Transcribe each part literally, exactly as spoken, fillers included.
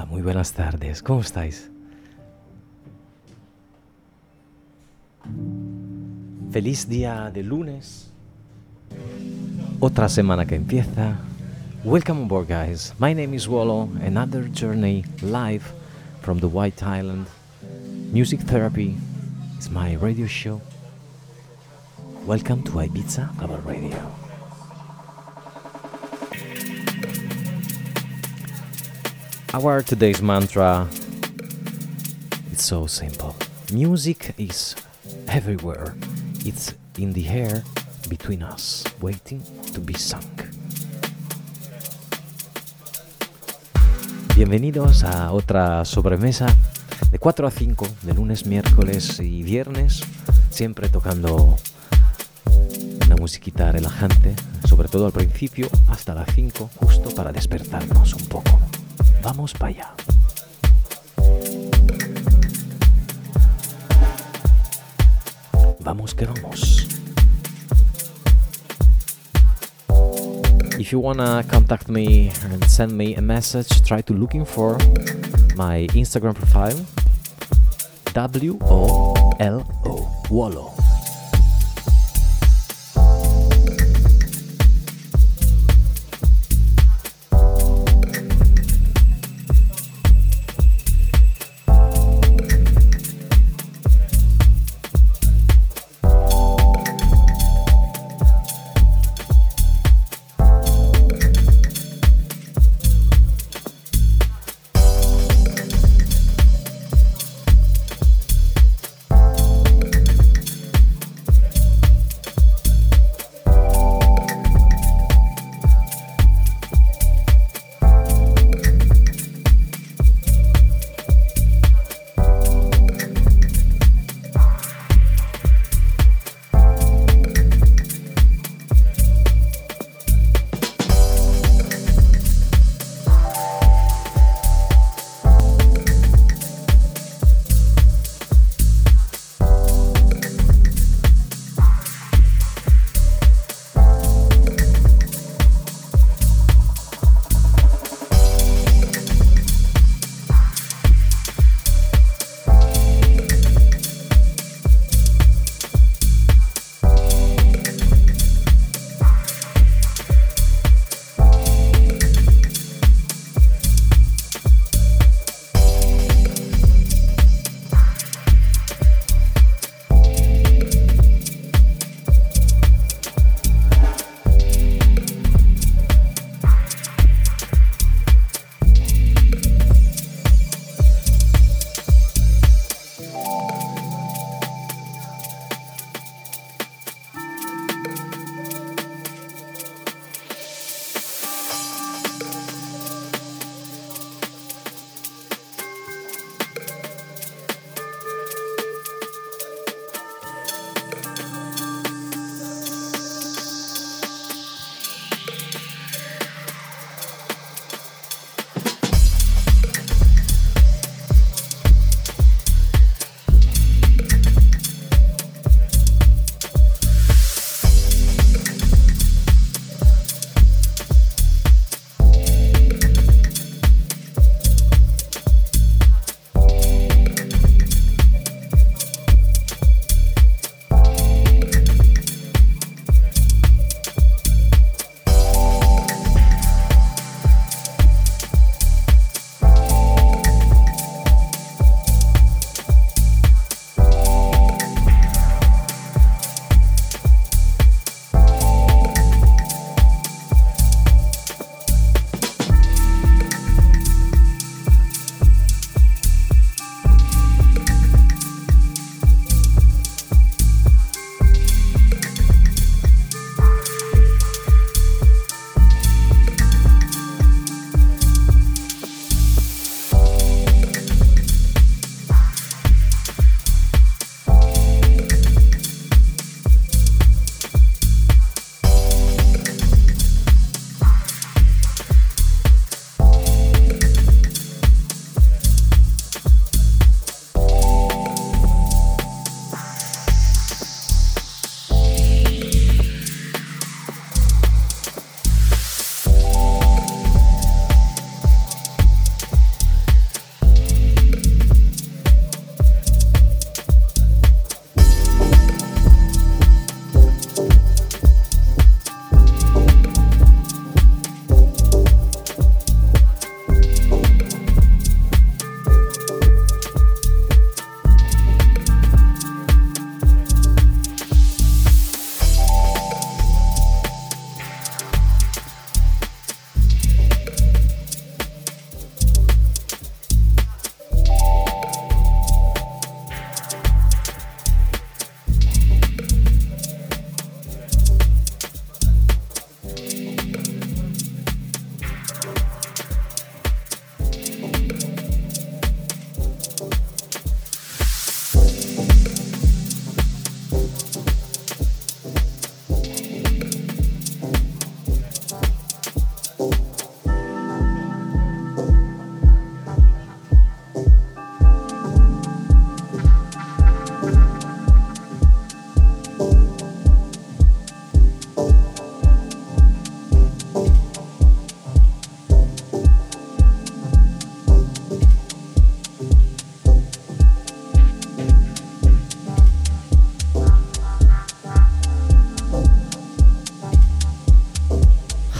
muy buenas tardes. ¿Cómo estáis? Feliz día de lunes. Otra semana que empieza. Welcome on board, guys. My name is Wallo. Another journey live from the White Island. Music Therapy is my radio show. Welcome to Ibiza Global Radio. Our today's mantra is so simple. Music is everywhere. It's in the air between us, waiting to be sung. Bienvenidos a otra sobremesa de cuatro a cinco, de lunes, miércoles y viernes, siempre tocando una musiquita relajante, sobre todo al principio, hasta las cinco, justo para despertarnos un poco. Vamos para allá. Vamos que vamos. If you wanna contact me and send me a message, try to looking for my Instagram profile, W O L O, Wallo.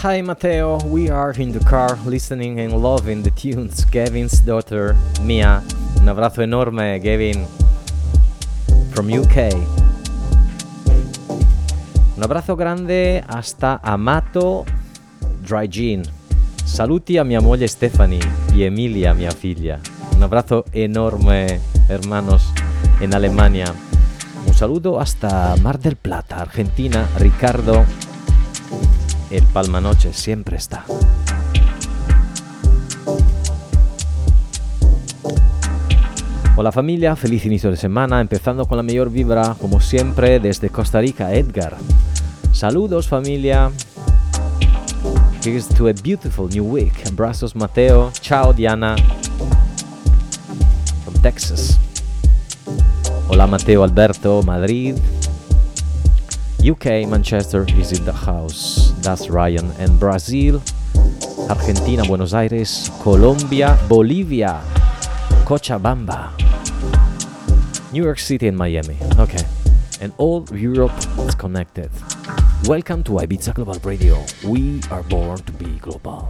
Hi Matteo, we are in the car listening and loving the tunes. Gavin's daughter Mia. Un abbraccio enorme, Gavin, from U K. Un abbraccio grande hasta Amato Dry Gin. Saluti a mia moglie Stephanie y Emilia, mia figlia. Un abbraccio enorme, hermanos, en Alemania. Un saludo hasta Mar del Plata, Argentina. Ricardo, el Palmanoche siempre está. Hola familia, feliz inicio de semana, empezando con la mayor vibra, como siempre, desde Costa Rica, Edgar. Saludos familia. Here's to a beautiful new week. Abrazos Mateo. Ciao Diana. From Texas. Hola Mateo Alberto, Madrid. U K, Manchester is in the house. That's Ryan. And Brazil, Argentina, Buenos Aires, Colombia, Bolivia, Cochabamba, New York City and Miami. Okay. And all Europe is connected. Welcome to Ibiza Global Radio. We are born to be global.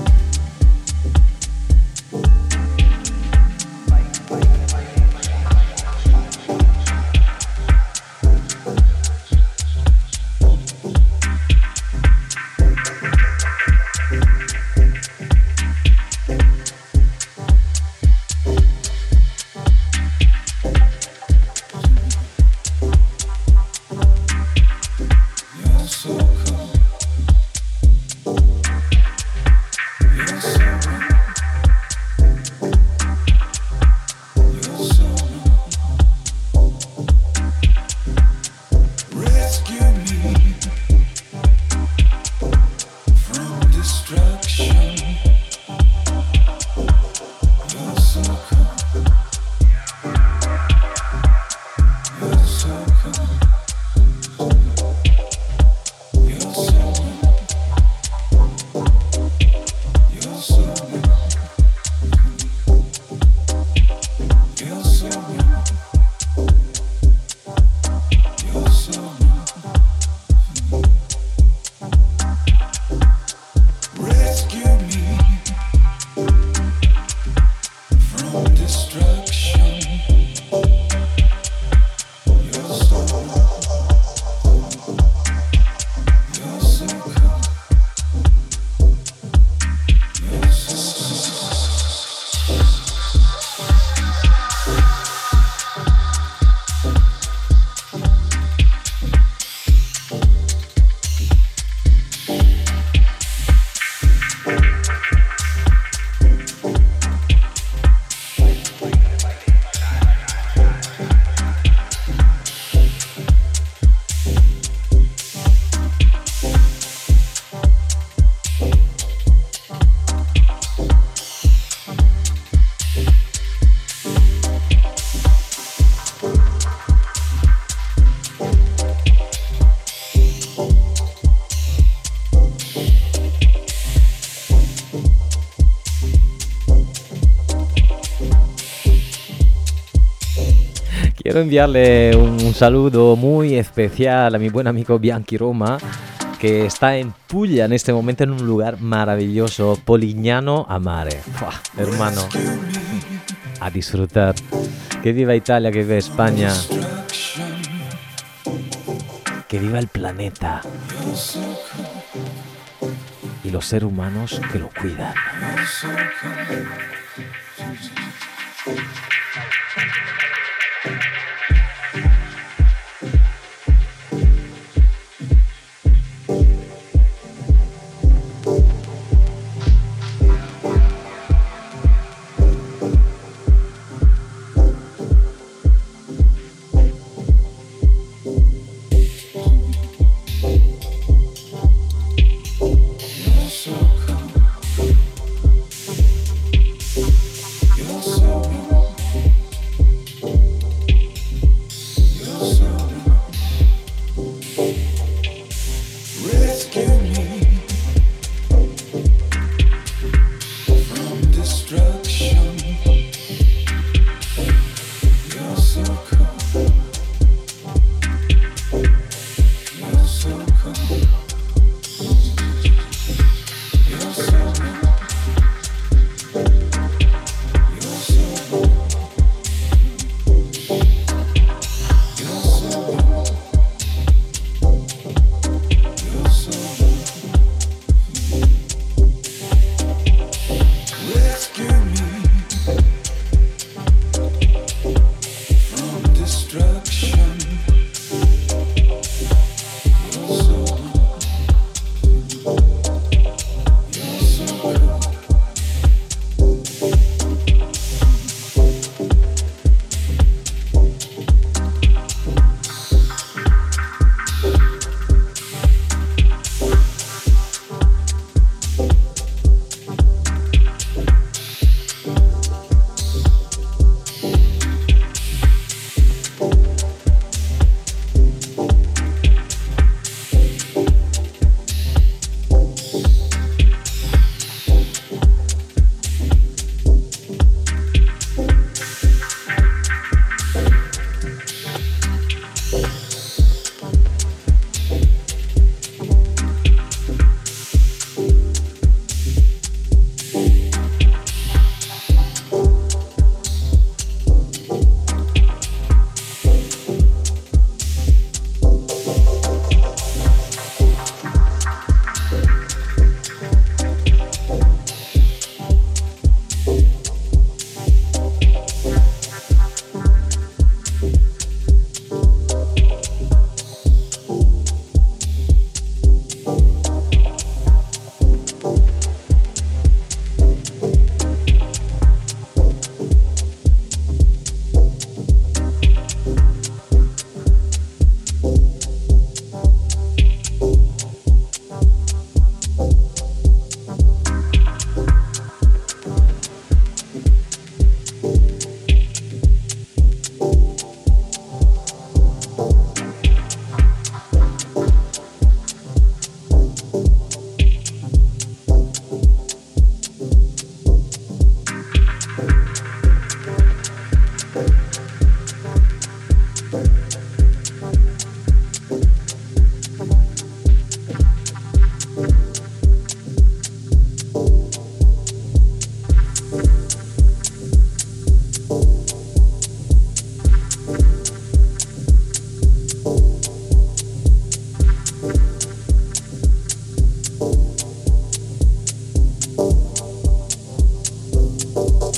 Quiero enviarle un, un saludo muy especial a mi buen amigo Bianchi Roma, que está en Puglia en este momento en un lugar maravilloso, Polignano a Mare. ¡Fua! Hermano, a disfrutar. Que viva Italia, que viva España, que viva el planeta y los seres humanos que lo cuidan.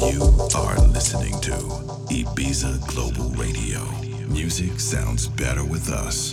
You are listening to Ibiza Global Radio. Music sounds better with us.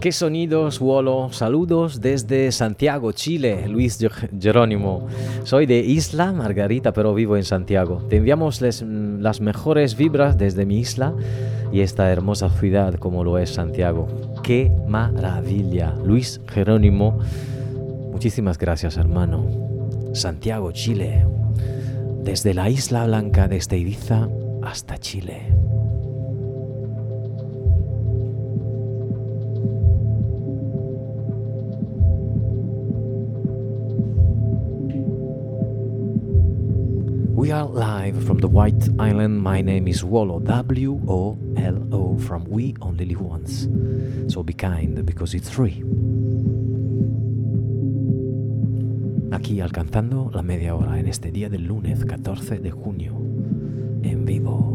¿Qué sonidos, Wolo? Saludos desde Santiago, Chile, Luis Jerónimo. Soy de Isla Margarita, pero vivo en Santiago. Te enviamos les, las mejores vibras desde mi isla y esta hermosa ciudad como lo es Santiago. ¡Qué maravilla! Luis Jerónimo, muchísimas gracias, hermano. Santiago, Chile. Desde la Isla Blanca, desde Ibiza hasta Chile. We are live from the White Island. My name is Wolo, W O L O, from We Only Live Once. So be kind, because it's free. Aquí alcanzando la media hora en este día del lunes catorce de junio, en vivo.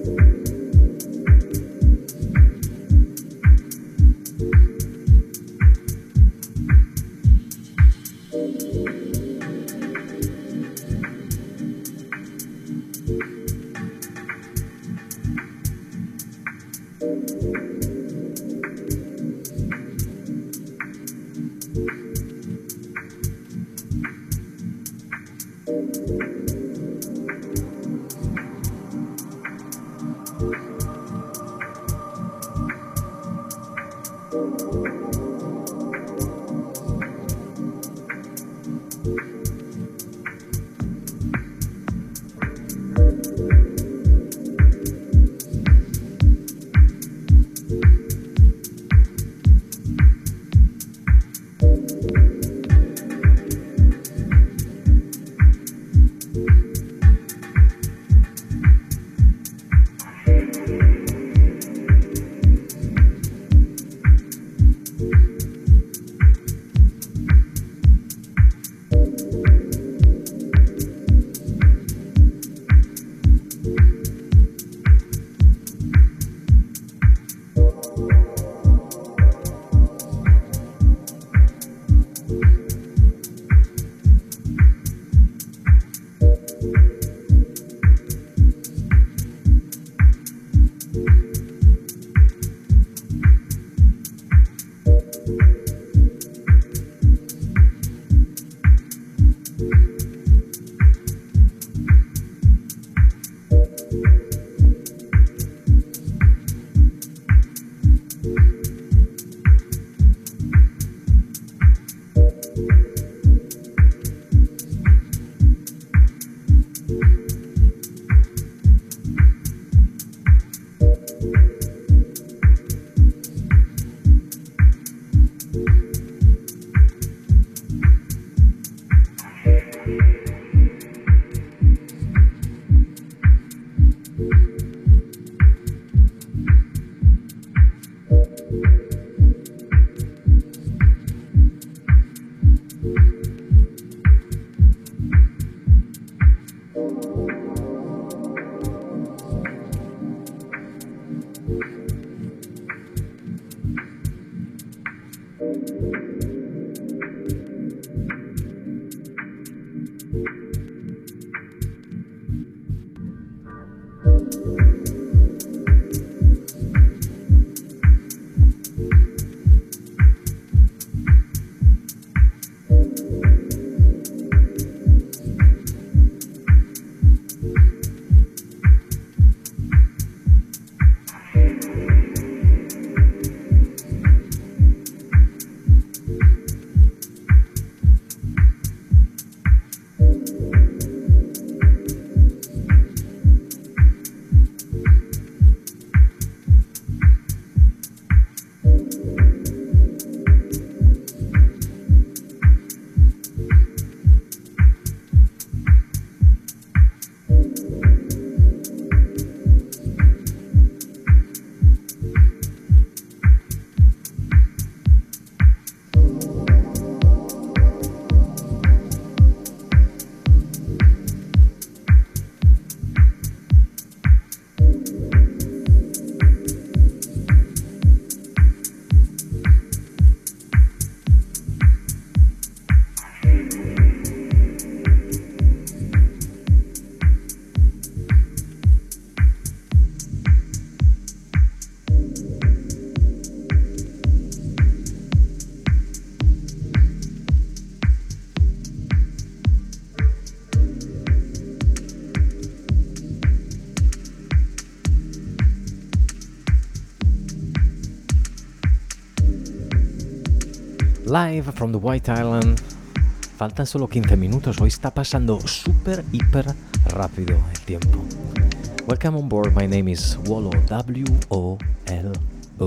Live from the White Island. Faltan solo quince minutos. Hoy está pasando súper, hiper rápido el tiempo. Welcome on board. My name is Wolo. W O L O.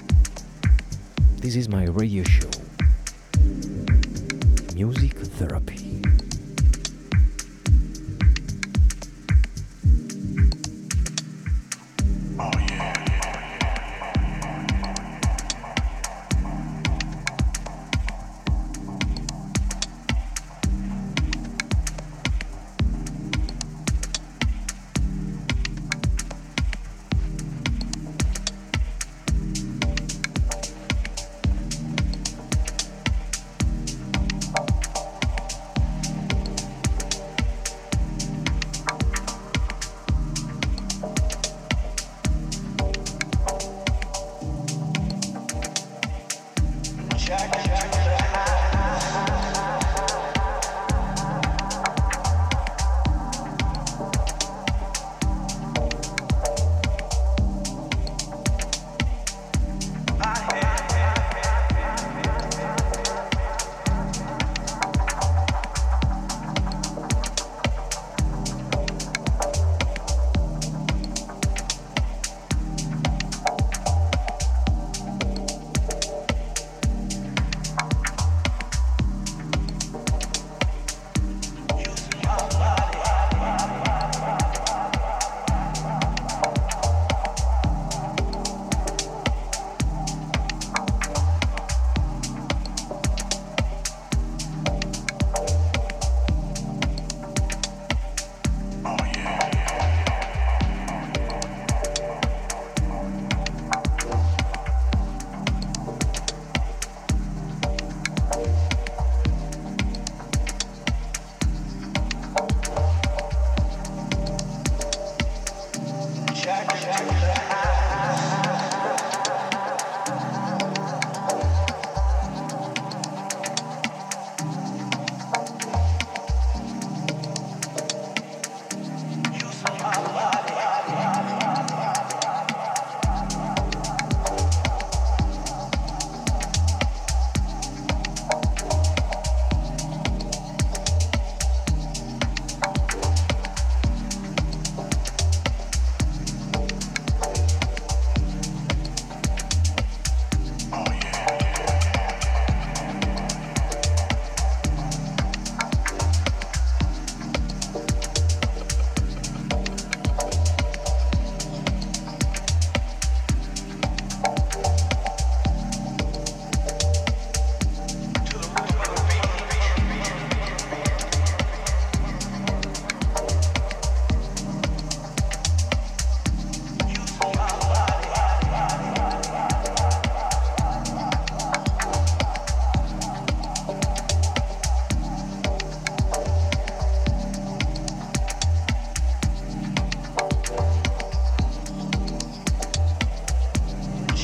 This is my radio show. Music Therapy.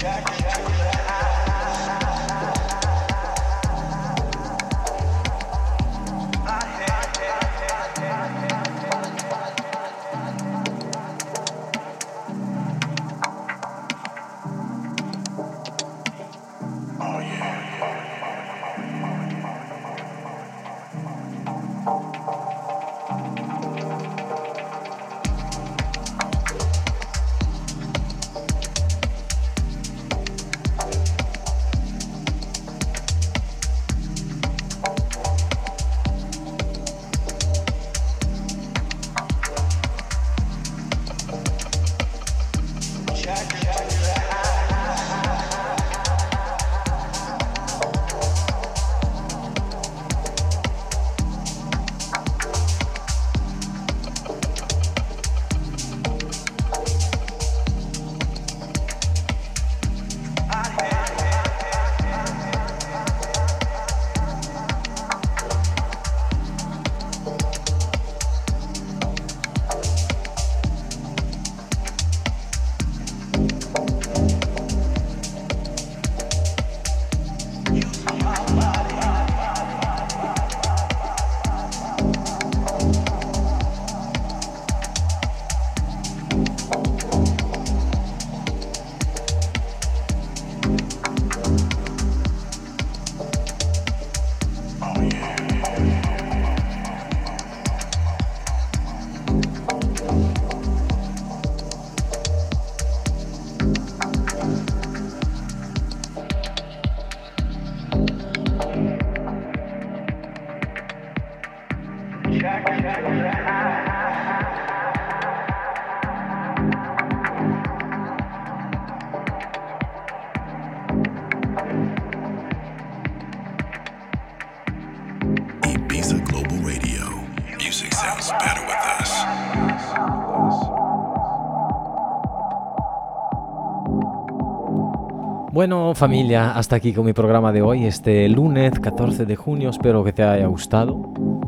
Bueno, familia, hasta aquí con mi programa de hoy, este lunes catorce de junio. Espero que te haya gustado.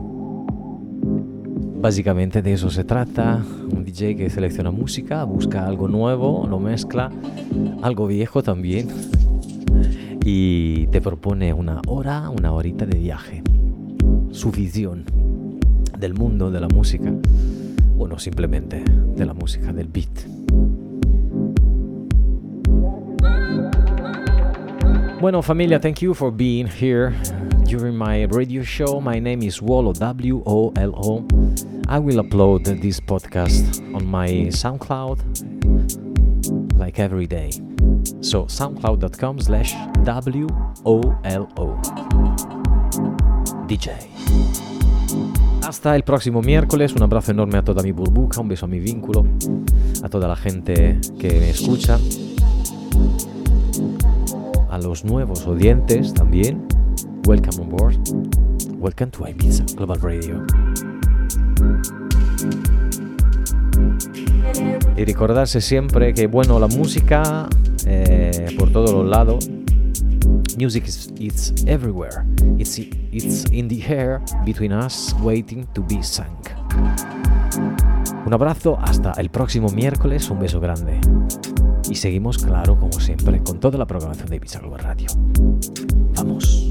Básicamente de eso se trata. Un D J que selecciona música, busca algo nuevo, lo mezcla, algo viejo también, y te propone una hora, una horita de viaje. Su visión del mundo de la música, o no simplemente de la música, del beat. Bueno, familia, thank you for being here during my radio show. My name is Wolo, W O L O. I will upload this podcast on my SoundCloud like every day. So soundcloud.com slash W O L O D J. Hasta el próximo miércoles. Un abrazo enorme a toda mi burbuja, un beso a mi vínculo, a toda la gente que me escucha, a los nuevos oyentes también. Welcome on board. Welcome to Ibiza Global Radio. Y recordarse siempre que, bueno, la música eh, por todos los lados. Music is it's everywhere. It's it's in the air between us, waiting to be sung. Un abrazo, hasta el próximo miércoles, un beso grande. Y seguimos, claro, como siempre, con toda la programación de Ibiza Global Radio. ¡Vamos!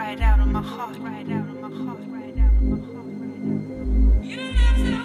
right out of my heart, right out of my heart, right out of my heart, right out of my heart. You look so